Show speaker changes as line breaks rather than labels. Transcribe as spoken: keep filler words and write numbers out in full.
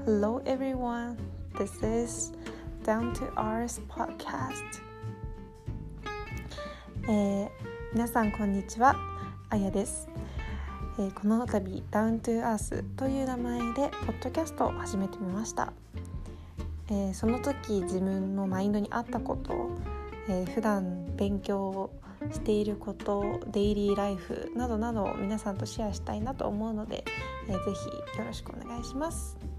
Hello everyone, this is Down to Earth Podcast、えー、皆さんこんにちは、あやです、えー、この度 Down to Earth という名前でポッドキャストを始めてみました、えー、その時自分のマインドに合ったこと、えー、普段勉強をしていること、デイリーライフなどなどを皆さんとシェアしたいなと思うので、えー、ぜひよろしくお願いします。